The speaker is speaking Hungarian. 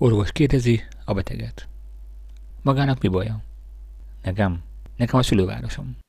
Orvos kérdezi a beteget. Magának mi baja? Nekem a szülővárosom.